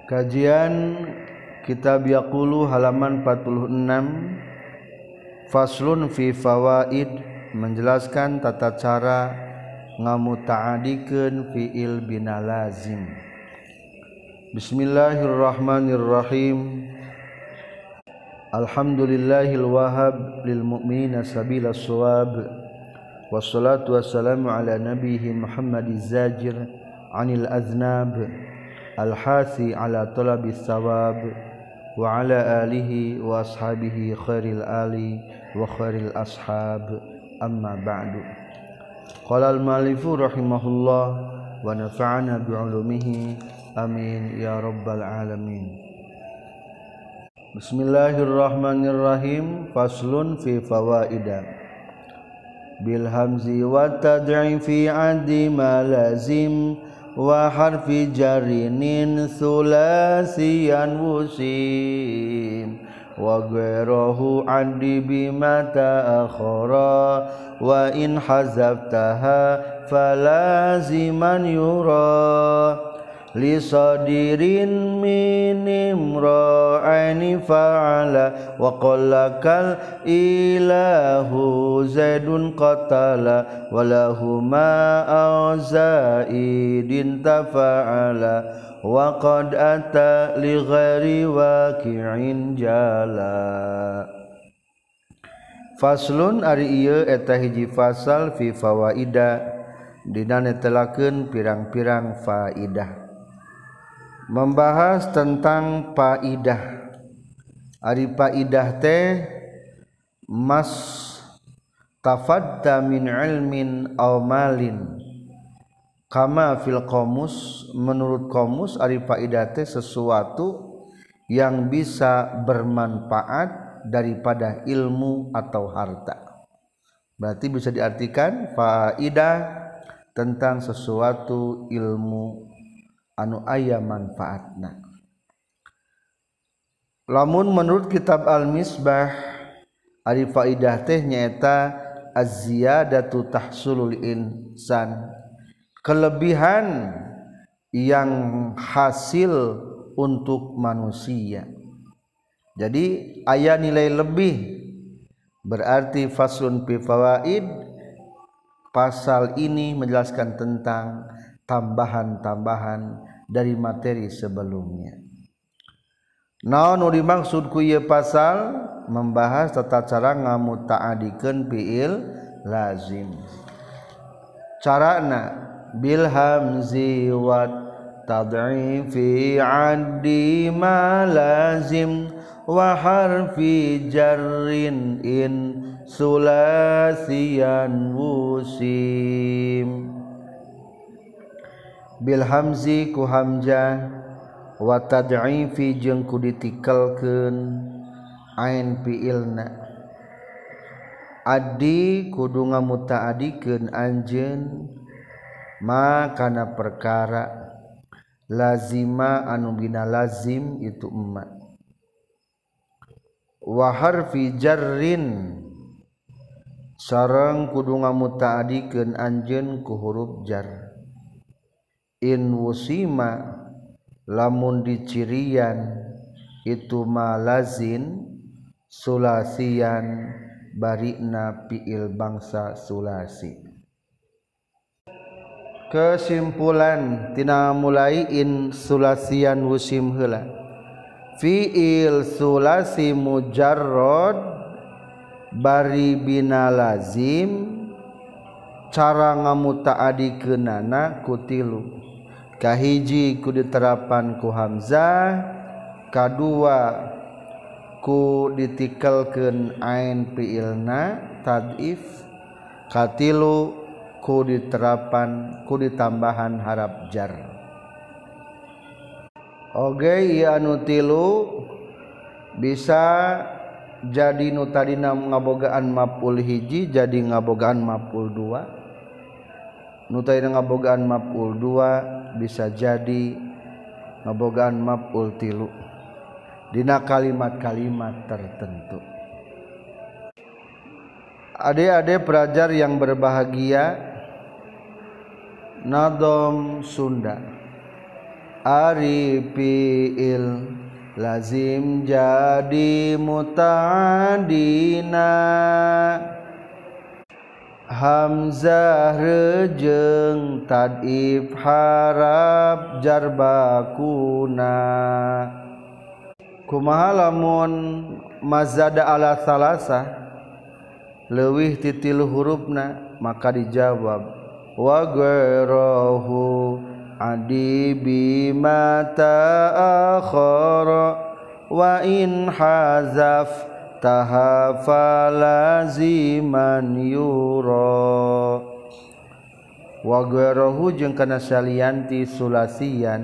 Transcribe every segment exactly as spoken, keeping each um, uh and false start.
Kajian Kitab Yaqulu halaman empat puluh enam. Faslun fi fawaid, menjelaskan tata cara ngamuta'adikeun fiil bina lazim. Bismillahirrahmanirrahim. Alhamdulillahil wahhab lil mu'minina sabilas shawab. Wassalatu wassalamu ala nabiyhi Muhammadiz zajir anil aznab. Al-hasi ala talabis sawab wa ala alihi wa ashabihi khairil ali wa khairil ashab, amma ba'du. Qala al-malifu rahimahullah wa nafa'ana bi'ulumihi amin ya rabbal alamin. Bismillahirrahmanirrahim. Faslun fi fawaidah. Bil hamzi wa tad'i fi addi ma lazim wa harfi jarinin sulasiyan wusim wa ghairuhu adi bima ta'akhara wa in hazaftaha falaziman yura li sadirin minim ra'ani fa'ala wa qallakal ilahu zaidun qatala walahuma auzaidin tafa'ala wa qad ata li ghairi waqi'in jala. Faslun ari ieu eta hiji fasal fi fawaida dina netelakeun pirang-pirang faidah. Membahas tentang faidah. Ari faidah teh mas tafadda min ilmin aw malin kama fil qamus. Menurut qamus ari faidah teh sesuatu yang bisa bermanfaat daripada ilmu atau harta. Berarti bisa diartikan faidah tentang sesuatu ilmu anu aya manfaatna. Lamun menurut kitab Al-Misbah ari faidah teh nyaeta az-ziyadatu tahsulul insan, kelebihan yang hasil untuk manusia. Jadi aya nilai lebih. Berarti faslun fi fawaid, pasal ini menjelaskan tentang tambahan-tambahan dari materi sebelumnya. Naon nu dimaksud ku ieu pasal? Membahas tata cara ngamuta'adikeun fiil lazim. Carana bil hamzi wa tad'ifi 'addi ma lazim wa harfi jarrin in sulasiyan wusim. Bil hamzi ku hamzah wa tad'ifi jeung ku ditikelkeun ain fiilna. Addi kudu ngamuta'adikeun anjeun ma kana perkara lazima anu bina lazim itu emma. Wa harfi jarrin sareng kudu ngamuta'adikeun anjeun ku huruf jar. In wusima lamun dicirian itu malazin sulasian barina fiil bangsa sulasi. Kesimpulan tina mulai in sulasian wusim heula. Fiil sulasi mujarrad bari bina lazim cara ngamuta'adikeunana ku tilu. Kahiji ku diterapan ku hamzah, kadua ku ditikelkeun ain fiilna tad'if, katilu ku diterapan ku ditambahan harap jar. Oge ieu anu tilu bisa jadi nu tadina ngabogaan maf'ul hiji jadi ngabogaan maf'ul dua. Nu tadina ngabogaan maf'ul dua bisa jadi ngabogaan maf'ul tilu dina kalimat-kalimat tertentu. Adik-adik pelajar yang berbahagia, Nadom Sunda ari fiil lazim jadi muta'adina hamzah rejeng tadif harap jarbakuna kumaha lamun mazada ala salasa leuwih ti tilu hurufna maka dijawab wa ghairuhu adi bima ta'akhara wa in hazaf tahafalaziman yura wa ghairuhu jeung kana salianti sulasian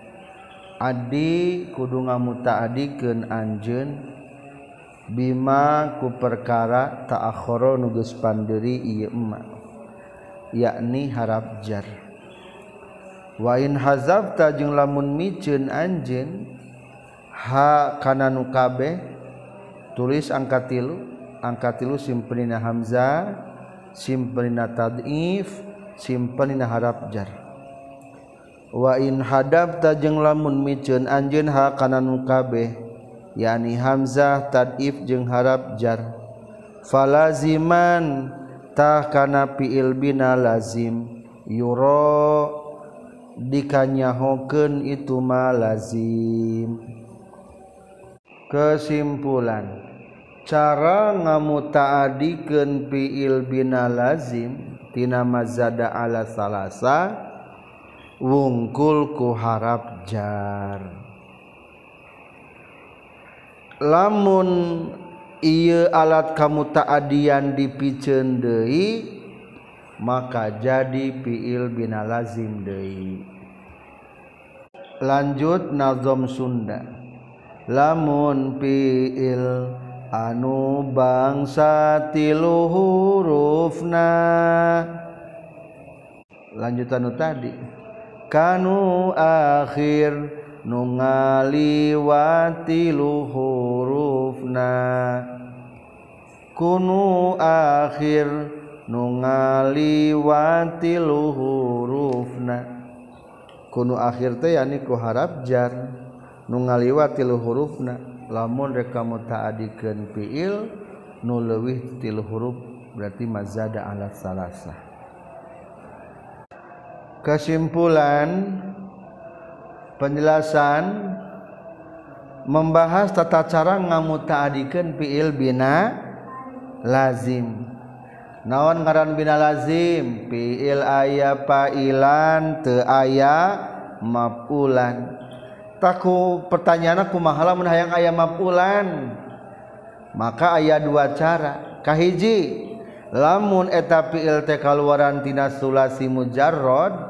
adi kudu ngamutaadikeun anjeun bima ku perkara ta'akhara nu geus pandeuri ieu emma yakni harap jar wa in hazafta jeung lamun miceun anjeun ha kana nu kabeh tulis angka tilu angka tilu simpenina hamzah simpenina tad'if simpenina harap jar wa in hadafta jeung lamun miceun anjeun ha kana nu kabeh yakni hamzah tad'if jeung harap jar falaziman tah kana fi'il bina lazim yura dikanyahokeun itu ma lazim. Kesimpulan cara ngamutaadikeun fi'il bina lazim tina mazada ala salasa wungkul ku harap jar lamun ieu alat kamutaadian dipikeun deui maka jadi fi'il bina lazim deui. Lanjut nazam Sunda lamun fi'il anu bangsa tilu hurufna lanjutan nu tadi kanu akhir nu ngaliwati lu hurufna kunu akhir nu ngaliwati lu hurufna kunu akhir teh yani ku harap jar nu ngaliwati lu hurufna lamun rek mutaadikeun fiil nu leuwih tilu huruf berarti mazada ala salasa. Kesimpulan penjelasan membahas tata cara ngamutaadikeun fiil bina lazim. Naon ngaran bina lazim? Fiil aya fa'ilan teu aya maf'ulan. Taku pertanyaanna kumaha lamun hayang aya maf'ulan? Maka aya dua cara. Kahiji, lamun eta fiil teh kaluaran tina sulasi mujarrad,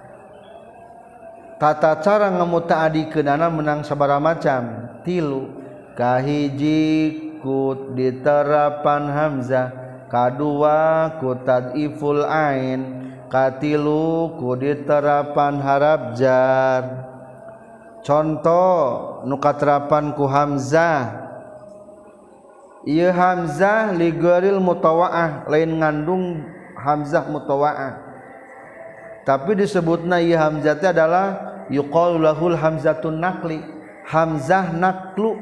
tata cara ngamutaadikeunana menang sabaraha macam? Tilu. Kahiji ku diterapan hamzah, kadua ku tad'iful ain, katilu ku diterapan harap jar. Contoh nu katerapan ku hamzah, ieu hamzah li ghairil mutawa'ah, lain ngandung hamzah mutawa'ah, tapi disebutna ieu hamzah teh adalah yuqalu lahul hamzatun naqli, hamzah naqlu.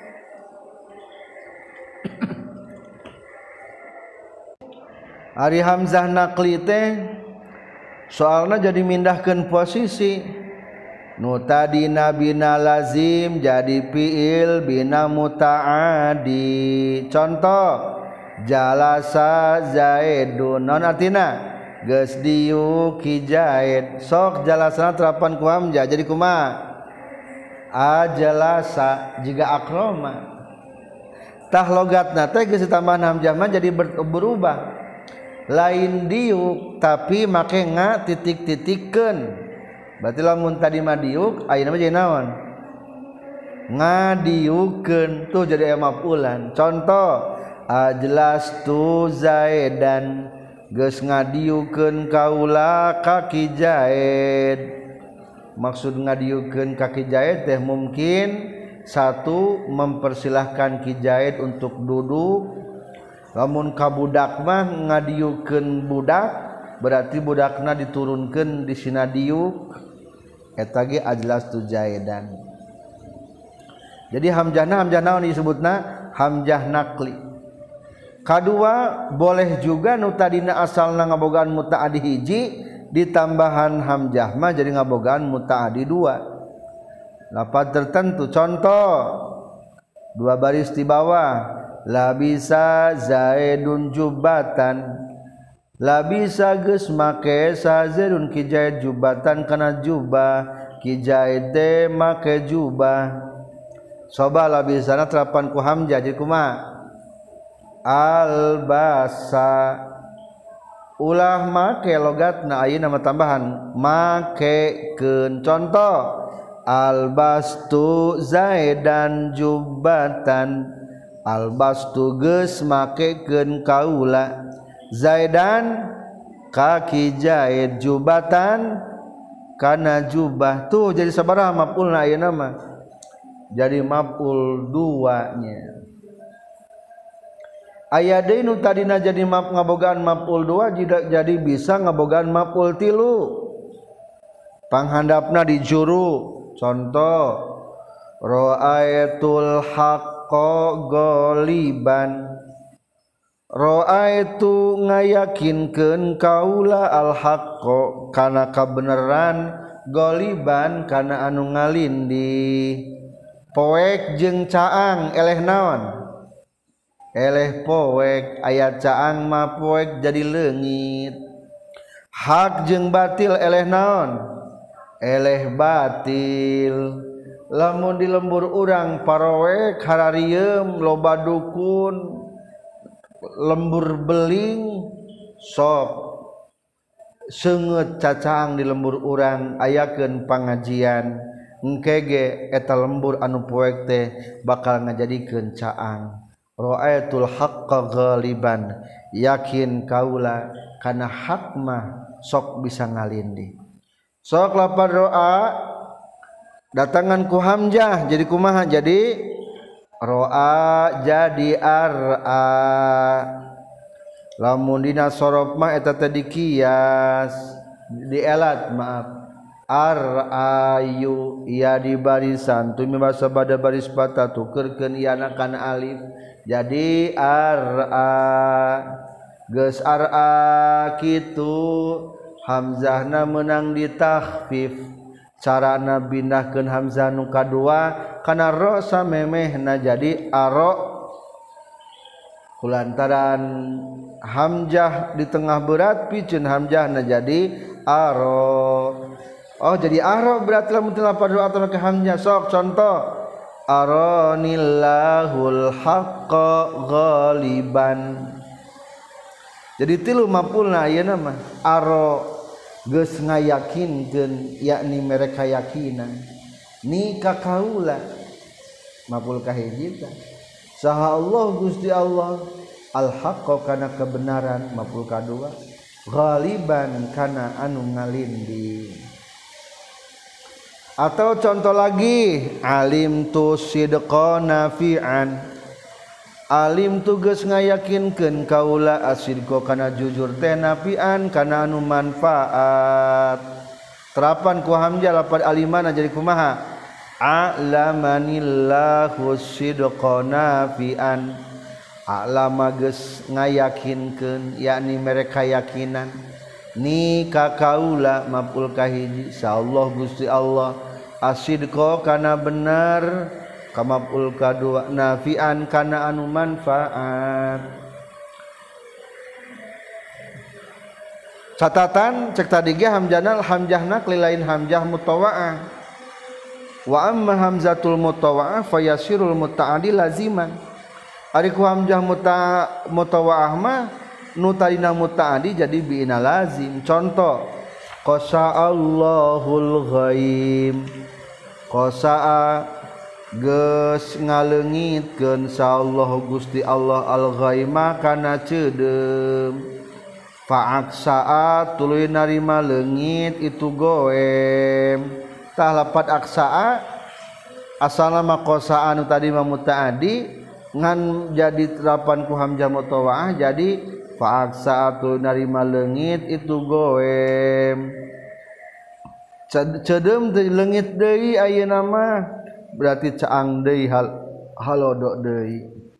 Ari hamzah naqli teh soalna jadi mindahkeun posisi nu tadina bina lazim jadi fiil bina mutaadi. Contoh jalasa zaidun, non artina geus diuk ki zaid, sok jalasana terapan ku hamzah jadi kumaha? Ajalasa jiga akroma. Tah logatna teh geus ditambahan hamzah mah jadi berubah, lain diuk tapi make nga titik-titikkeun. Berarti lamun tadi mah diuk ayeuna mah jadi naon? Ngadiukeun, tuh jadi maf'ulan. Contoh ajlastu zaidan, geus ngadiukeun kaula ka ki Zaid. Maksud ngadiukeun ka ki Zaid teh mungkin satu mempersilahkan ki Zaid untuk duduk. Lamun ka budak mah ngadiukeun budak berarti budakna diturunkeun di sina diuk. eta ge ajlastu zaidan. Jadi hamzahna hamzah naon disebutna hamzah naqli. Kadua boleh juga nu tadina asalna ngabogaan mutaaddi hiji ditambahan hamzah mah jadi ngabogaan mutaaddi dua. Lafaz tertentu contoh dua baris di bawah labisa zaidun jubatan. Labisa geus make sa zaidun ki zaid jubatan kana jubah ki zaid teh make jubah. Coba labisana terapan ku hamzah jadi kumaha? Albasa ulah make logatna ayeuna nama tambahan makekeun. Contoh albastu zaidan jubatan. Albastu geus makekeun kaula zaidan kaki zaid jubatan kana jubah. Tuh jadi sabaraha maf'ulna ayeuna mah? Jadi maf'ul dua nya. Aya deui nu tadina jadi maf ngabogaan maf'ul dua jadi bisa ngabogaan maf'ul tilu. Panghandapna di juru. Contoh ra'aitul haqqo ghaliban. Ra'aitu ngayakinkeun kaula al haqqo kana kabeneran ghaliban kana anu ngalindi. Poek jeung caang eleh naon? Eleh poek. Aya caang mah poek jadi leungit. Hak jeung batil eleh naon? Eleh batil. Lamun di lembur urang paroek hararieum loba dukun lembur beling sok seungeut cacaang di lembur urang ayakeun pangajian engke ge eta lembur anu poek teh bakal ngajadikeun caang. Ra'aitul haqqa ghaliban, yakin kaula kana hak mah sok bisa ngalindi. Sok lapar ro'a datangan ku hamzah jadi kumaha? Jadi ro'a jadi ar'a. Lamun dina sorof mah eta teh dikias dielat maaf ar'ayu ya di barisan tumi basa bada baris patah tukerkeun iana kana alif jadi ar'a. Geus ar'a kitu hamzahna meunang ditakhfif. Carana pindahkeun hamzah nu kadua kana ro samemehna jadi aro. Kulantaran hamzah di tengah berat pikeun hamzahna jadi aro. Oh jadi aro berarti lamun teu lafaz atau ke hamzah. Sok contoh aronillahul haqqa ghaliban. Jadi tilu maf'ulna ayeuna mah aro geus ngayakinkeun yakni mereka yakinan ni ka kaula maf'ul kahiji tah saha Allah Gusti Allah al haqqa kana kebenaran maf'ul kadua ghaliban kana anu ngalindi. Atau contoh lagi alim tu sidqa nafi'an. Alim tu geus ngayakinkeun kaula asidqa kana jujur teh nafi'an kana anu manfaat. Terapan ku hamzah lafaz alimana jadi kumaha? A'lamanillahu sidqa nafi'an. A'lama geus ngayakinkeun yakni mereka yakinan ni ka kaula maf'ul kahiji insyaallah Gusti Allah asidqa kana bener kamaf'ul kadua nafi'an kana anu manfaat. Catatan cek tadi ge hamzahna hamzahna lain hamzah mutawa'ah. Wa amma hamzatul mutawa'ah fayasirul muta'addi laziman. Ari ku hamzah mutawa'ah mah nu tadina muta'addi jadi bi'ina lazim. Contoh qasa'allahul ghaib. Qasa'a geus ngaleungitkeun insyaallah Gusti Allah al-ghaima kana ceudem. Fa'aksa'a tuluy narima leungit itu goem. Tah lafaz aksa'a asalna mah qasa'a anu tadi mah mutaaddi ngan jadi terapan ku hamzah mutawa'ah jadi fa'aksa'a tuluy narima leungit itu goem. cedem teh leungit deui ayeuna mah berarti caang deui hal halodok deui